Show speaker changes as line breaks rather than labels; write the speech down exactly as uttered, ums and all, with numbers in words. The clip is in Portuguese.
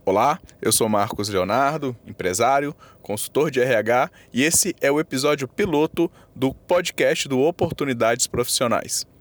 Olá, eu sou Marcos Leonardo, empresário, consultor de R H, e esse é o episódio piloto do podcast do Oportunidades Profissionais.